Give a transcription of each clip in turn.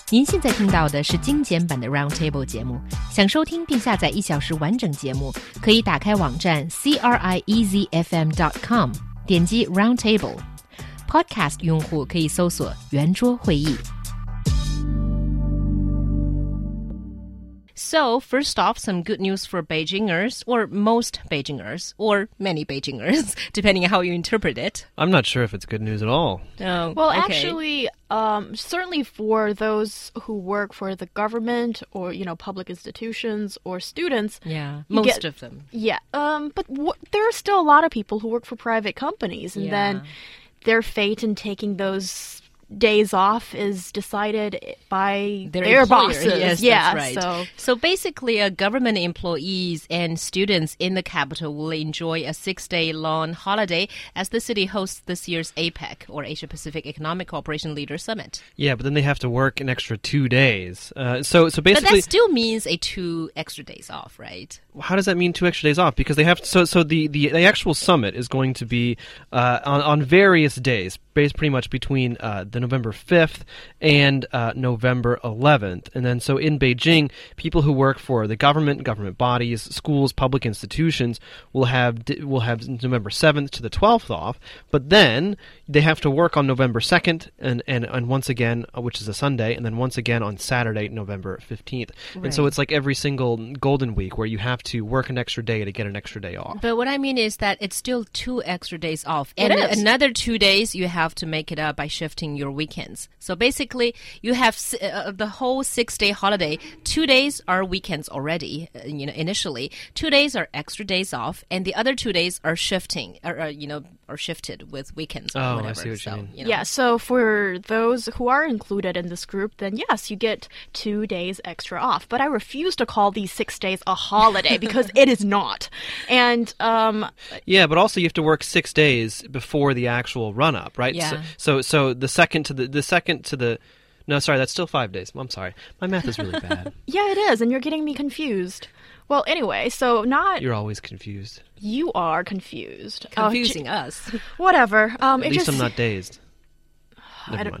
您现在听到的是精简版的 Roundtable 节目。想收听并下载1小时完整节目，可以打开网站 CRIEZFM.com， 点击 Roundtable。Podcast 用户可以搜索圆桌会议。So, first off, some good news for Beijingers, or most Beijingers, or many Beijingers, depending on how you interpret it. I'm not sure if it's good news at all. Oh, Well, okay. actually, certainly for those who work for the government or, public institutions or students. Yeah, you most get- of them. Yeah, but there are still a lot of people who work for private companies, and then their fate in taking those days off is decided by their employer. bosses. Yes, that's right. So basically, government employees and students in the capital will enjoy a 6-day long holiday as the city hosts this year's APEC, or Asia Pacific Economic Cooperation Leaders Summit. Yeah, but then they have to work an extra 2 days. So But basically, that still means 2 extra days off, right? how does that mean 2 extra days off? Because they have so the actual summit is going to be on various days, based pretty much between the November 5th and November 11th. And then so in Beijing, people who work for the government bodies, schools, public institutions will have November 7th to the 12th off, but then they have to work on November 2nd and once again, which is a Sunday, and then once again on Saturday, November 15th. And so Right. it's like every single Golden Week where you have to work an extra day to get an extra day off. But what I mean is that it's still 2 extra days off. It And is. another 2 days, you have to make it up by shifting your weekends. So basically, you have the whole 6-day holiday. 2 days are weekends already, initially. 2 days are extra days off, and the other 2 days are shifting, or shifted with weekends or Oh, I whatever. see what you mean. Yeah, so for those who are included in this group, then yes, you get 2 days extra off. But I refuse to call these 6 days a holiday because it is not. And Yeah, but also you have to work 6 days before the actual run-up, right? Yeah. So the second to the no, sorry, that's still 5 days. I'm sorry, my math is really bad. yeah, it is, and you're getting me confused. Well, anyway, so You're always confused. you are confused. Confusing us. Whatever. At It least just, I'm not dazed. Never don't- mind.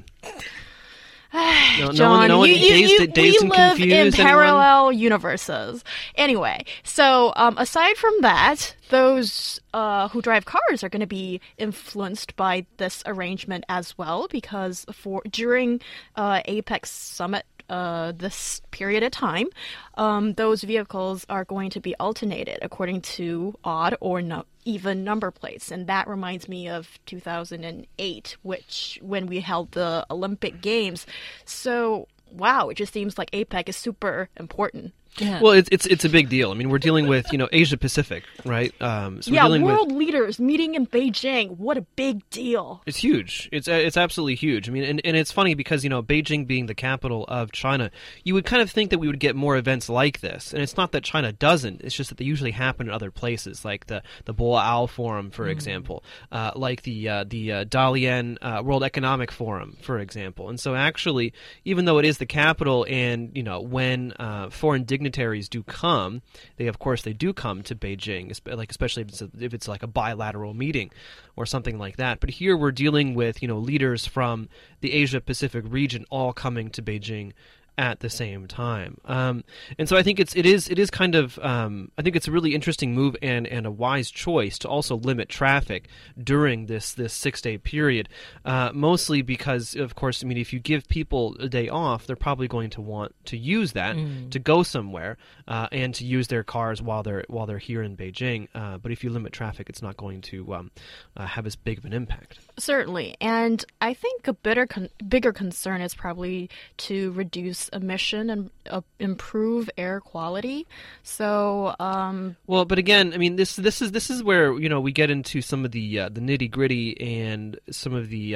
John, no one you dazed we and live confused. in anyone? parallel universes. Anyway, so aside from that, those who drive cars are going to be influenced by this arrangement as well, because during Apex Summit this period of time, those vehicles are going to be alternated according to odd or even number plates. And that reminds me of 2008, when we held the Olympic Games. So, wow, it just seems like APEC is super important. Yeah. Well, it's a big deal. I mean, we're dealing with Asia Pacific, right? So we're dealing world with. leaders meeting in Beijing. What a big deal. It's huge. It's absolutely huge. I mean, and it's funny because, Beijing being the capital of China, you would kind of think that we would get more events like this. And it's not that China doesn't. It's just that they usually happen in other places, like the Boao Forum, for example, like the Dalian World Economic Forum, for example. And so actually, even though it is the capital and, when foreign dignitaries do come, they do come to Beijing, especially if it's like a bilateral meeting or something like that. But here we're dealing with leaders from the Asia Pacific region all coming to Beijing at the same time, and so I think it is kind of I think it's a really interesting move and a wise choice to also limit traffic during this 6-day period, mostly because of course if you give people a day off, they're probably going to want to use that to go somewhere and to use their cars while they're here in Beijing. But if you limit traffic, it's not going to have as big of an impact. Certainly. And I think a bigger concern is probably to reduce emission and improve air quality. So, well, but again, I mean, this is where we get into some of the nitty gritty and some of the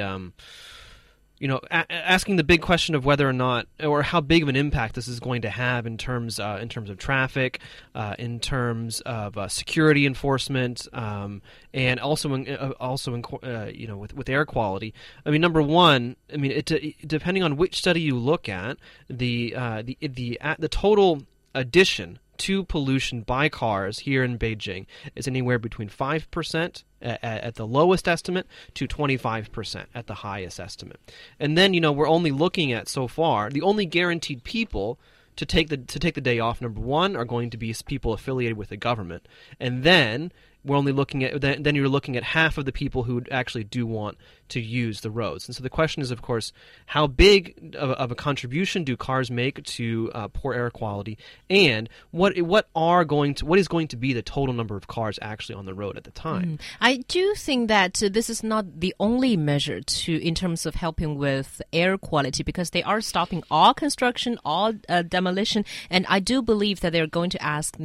asking the big question of whether or not, or how big of an impact this is going to have in terms of traffic, in terms of security enforcement, and also with air quality. I mean, number one, I mean, depending on which study you look at, the total addition to pollution by cars here in Beijing is anywhere between 5% at the lowest estimate to 25% at the highest estimate. And then, we're only looking at, so far, the only guaranteed people to take the day off, number one, are going to be people affiliated with the government. And then we're only looking at then you're looking at half of the people who actually do want to use the roads. And so the question is, of course, how big of a contribution do cars make to poor air quality, and what is going to be the total number of cars actually on the road at the time? I do think that this is not the only measure in terms of helping with air quality, because they are stopping all construction, all demolition, and I do believe that they're going to ask,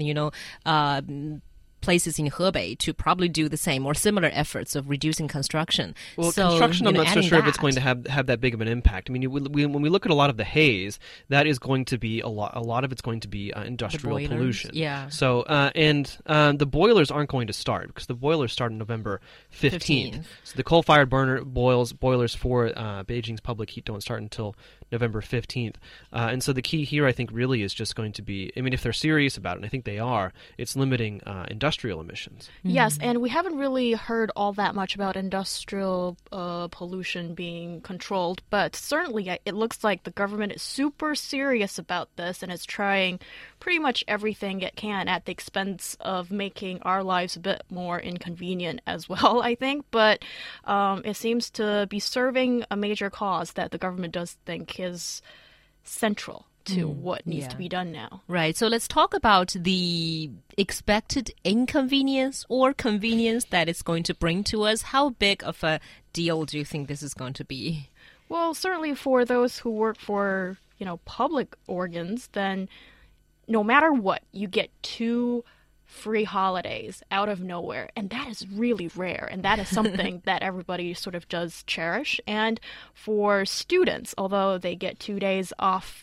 places in Hebei to probably do the same or similar efforts of reducing construction. Well, construction, I'm not so sure if it's going to have that big of an impact. I mean, when we look at a lot of the haze, that is going to be a lot of it's going to be industrial pollution. Yeah. So the boilers aren't going to start, because the boilers start on November 15th. So the coal-fired boilers for Beijing's public heat don't start until November 15th. And so the key here, I think, really is just going to be, if they're serious about it, and I think they are, it's limiting industrial emissions. Yes, and we haven't really heard all that much about industrial pollution being controlled, but certainly it looks like the government is super serious about this, and is trying pretty much everything it can at the expense of making our lives a bit more inconvenient as well, I think. But it seems to be serving a major cause that the government does think is central to what needs to be done now. Right. So let's talk about the expected inconvenience or convenience that it's going to bring to us. How big of a deal do you think this is going to be? Well, certainly for those who work for, public organs, then no matter what, you get 2 free holidays out of nowhere, and that is really rare, and that is something that everybody sort of does cherish. And for students, although they get 2 days off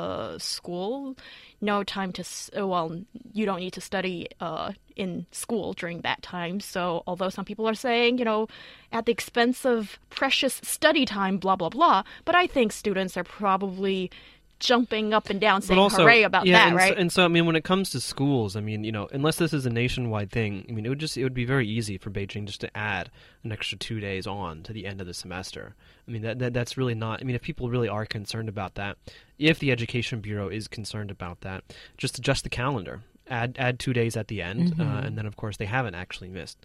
school, no time to, you don't need to study in school during that time. So although some people are saying, at the expense of precious study time, blah, blah, blah, but I think students are probably jumping up and down saying hooray about that, right? And so, when it comes to schools, unless this is a nationwide thing, it would be very easy for Beijing just to add an extra 2 days on to the end of the semester. That's really not, if people really are concerned about that, if the Education Bureau is concerned about that, just adjust the calendar. Add 2 days at the end, and then, of course, they haven't actually missed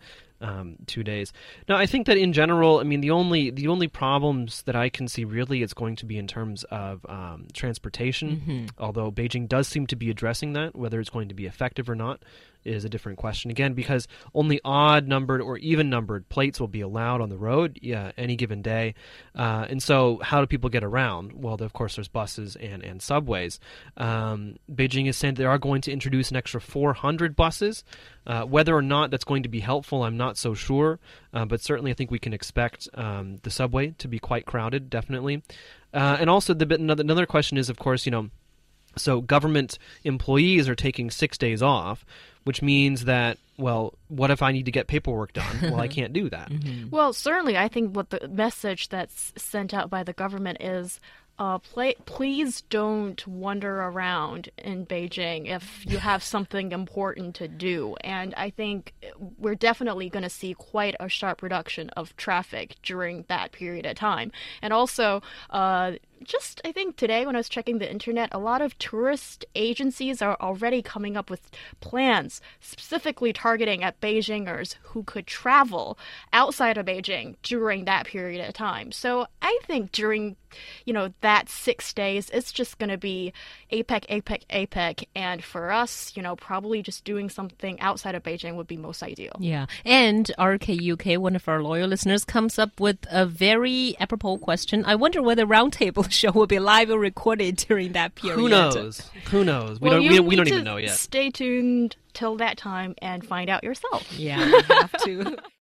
2 days. Now, I think that in general, the only problems that I can see really is going to be in terms of transportation, although Beijing does seem to be addressing that. Whether it's going to be effective or not is a different question, again, because only odd-numbered or even-numbered plates will be allowed on the road any given day. And so how do people get around? Well, of course, there's buses and subways. Beijing is saying they are going to introduce an extra 400 buses. Whether or not that's going to be helpful, I'm not so sure. But certainly I think we can expect the subway to be quite crowded, definitely. And also another question is, of course, so government employees are taking 6 days off, which means that, well, what if I need to get paperwork done? Well, I can't do that. Well, certainly, I think what the message that's sent out by the government is, please don't wander around in Beijing if you have something important to do. And I think we're definitely going to see quite a sharp reduction of traffic during that period of time. And also, I think today when I was checking the internet, a lot of tourist agencies are already coming up with plans specifically targeting at Beijingers who could travel outside of Beijing during that period of time. So I think during, that 6 days, it's just going to be APEC, APEC, APEC. And for us, probably just doing something outside of Beijing would be most ideal. Yeah. And RKUK, one of our loyal listeners, comes up with a very apropos question. I wonder whether Roundtable show will be live or recorded during that period. Who knows? We don't even know yet. Stay tuned till that time and find out yourself. Yeah, you have to.